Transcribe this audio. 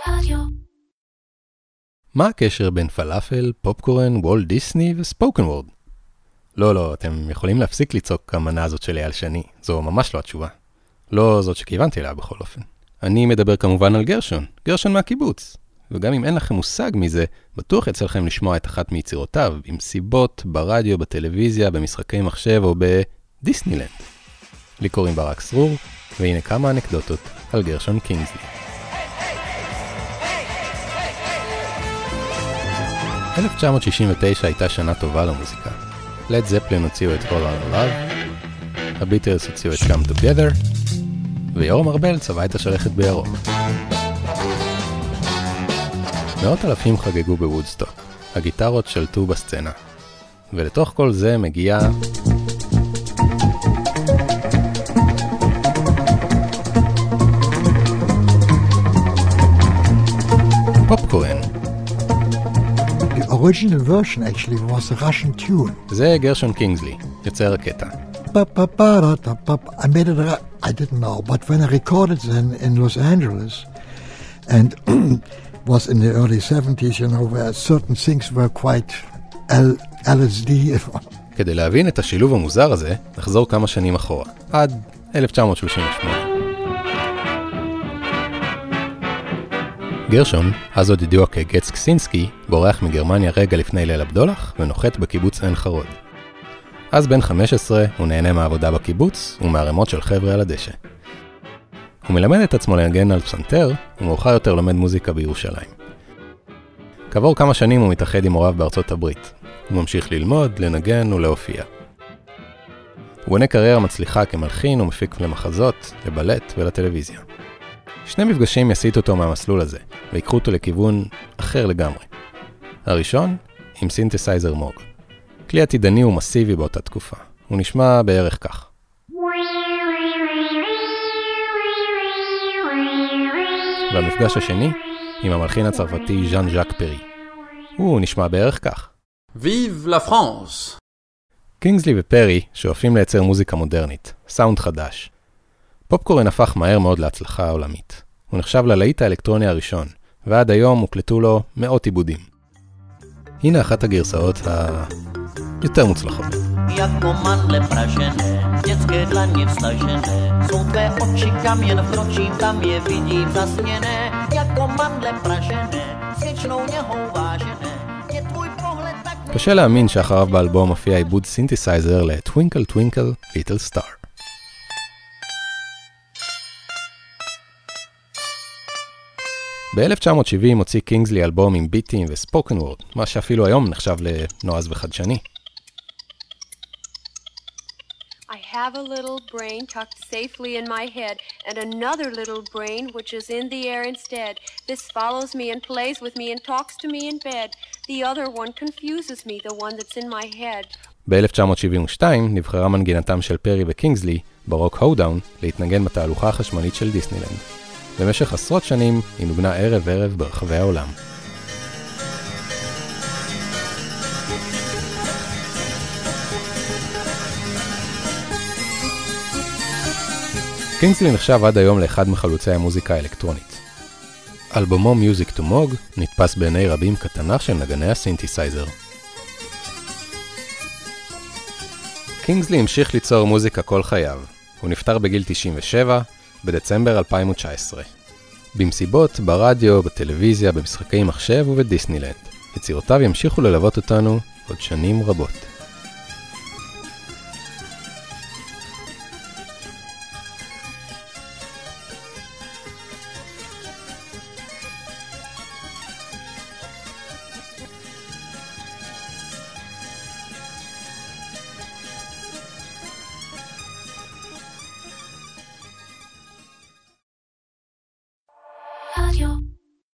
רדיו. מה הקשר בין פלאפל, פופקורן, וולט דיסני וספוקן וורד? לא, אתם יכולים להפסיק לצעוק המנה הזאת שלי על שני. זו ממש לא התשובה. לא זאת שכיוונתי אליה בכל אופן. אני מדבר כמובן על גרשון מהקיבוץ. וגם אם אין לכם מושג מזה, בטוח יצא לכם לשמוע את אחת מיצירותיו, במסיבות, ברדיו, בטלוויזיה, במשחקי מחשב או בדיסנילנד. לי קוראים ברק סרור, והנה כמה אנקדוטות על גרשון קינגסלי. 1969 הייתה שנה טובה למוזיקה. לד זפלין הוציאו את All Our Love, הביטלס הוציאו את Come Together, ויורם ארבל צבע את השלכת בירוק. מאות אלפים חגגו בוודסטוק, הגיטרות שלטו בסצנה. ולתוך כל זה מגיע פופקורן. The original version actually was a Russian tune. זה גרשון קינגסלי, יוצר הקטע. I made it, I didn't know, but when I recorded then in Los Angeles, and was in the early 70s, you know, where certain things were quite LSD. כדי להבין את השילוב המוזר הזה, נחזור כמה שנים אחורה, עד 1938. גרשון, אז עוד ידוע כגץ קסינסקי, בורח מגרמניה רגע לפני ליל הבדולח ונוחת בקיבוץ עין חרוד. אז בן 15 הוא נהנה מהעבודה בקיבוץ ומהרמות של חבר'ה על הדשא. הוא מלמד את עצמו לנגן על פסנתר, ומאוחר יותר לומד מוזיקה בירושלים. כעבור כמה שנים הוא מתאחד עם הוריו בארצות הברית. הוא ממשיך ללמוד, לנגן ולהופיע. הוא בונה קריירה מצליחה כמלחין ומפיק למחזות, לבלט ולטלוויזיה. שני מפגשים יסיטו אותו מהמסלול הזה, ויקחו אותו לכיוון אחר לגמרי. הראשון, עם סינתסייזר מוג. כלי עתידני ומסיבי באותה תקופה. הוא נשמע בערך כך. והמפגש השני, עם המלחין הצרפתי ז'אן ז'אק פרי. הוא נשמע בערך כך. Vive la France! קינגסלי ופרי שואפים לייצר מוזיקה מודרנית, סאונד חדש. פופקורן הפך מהר מאוד להצלחה עולמית. הוא נחשב ללהיט האלקטרוני הראשון, ועד היום הוקלטו לו מאות עיבודים. הנה אחת הגרסאות היותר מוצלחות. Jako mandle pražené, dětské dlaně vstažené, jsou tvé oči kamien v nočím, tam je vidím zasněné. Jako mandle pražené, svěčnou něhou vážené, je tvůj pohled tak... קשה להאמין שאחריו באלבום מופיע עיבוד סינתסייזר ל-Twinkle Twinkle Little Star. ב-1970 הוציא קינגסלי אלבום עם ביטים וספוקן וורד, מה שאפילו היום נחשב לנועז וחדשני. I have a little brain tucked safely in my head, and another little brain which is in the air instead. This follows me and plays with me and talks to me in bed. The other one confuses me, the one that's in my head. ב-1972 נבחרה מנגינתם של פרי וקינגסלי ברוק הודאון להתנגן בתהלוכה החשמלית של דיסנילנד. במשך עשרות שנים היא נוגנה ערב ברחבי העולם. קינגסלי נחשב עד היום לאחד מחלוצי המוזיקה האלקטרונית. אלבומו Music to Moog נתפס בעיני רבים כתנ"ך של נגני הסינתסייזר. קינגסלי המשיך ליצור מוזיקה כל חייו. הוא נפטר בגיל 97 בדצמבר 2019. במסיבות, ברדיו, בטלוויזיה, במשחקי מחשב ובדיסנילנד. יצירותיו ימשיכו ללוות אותנו עוד שנים רבות. רדיו.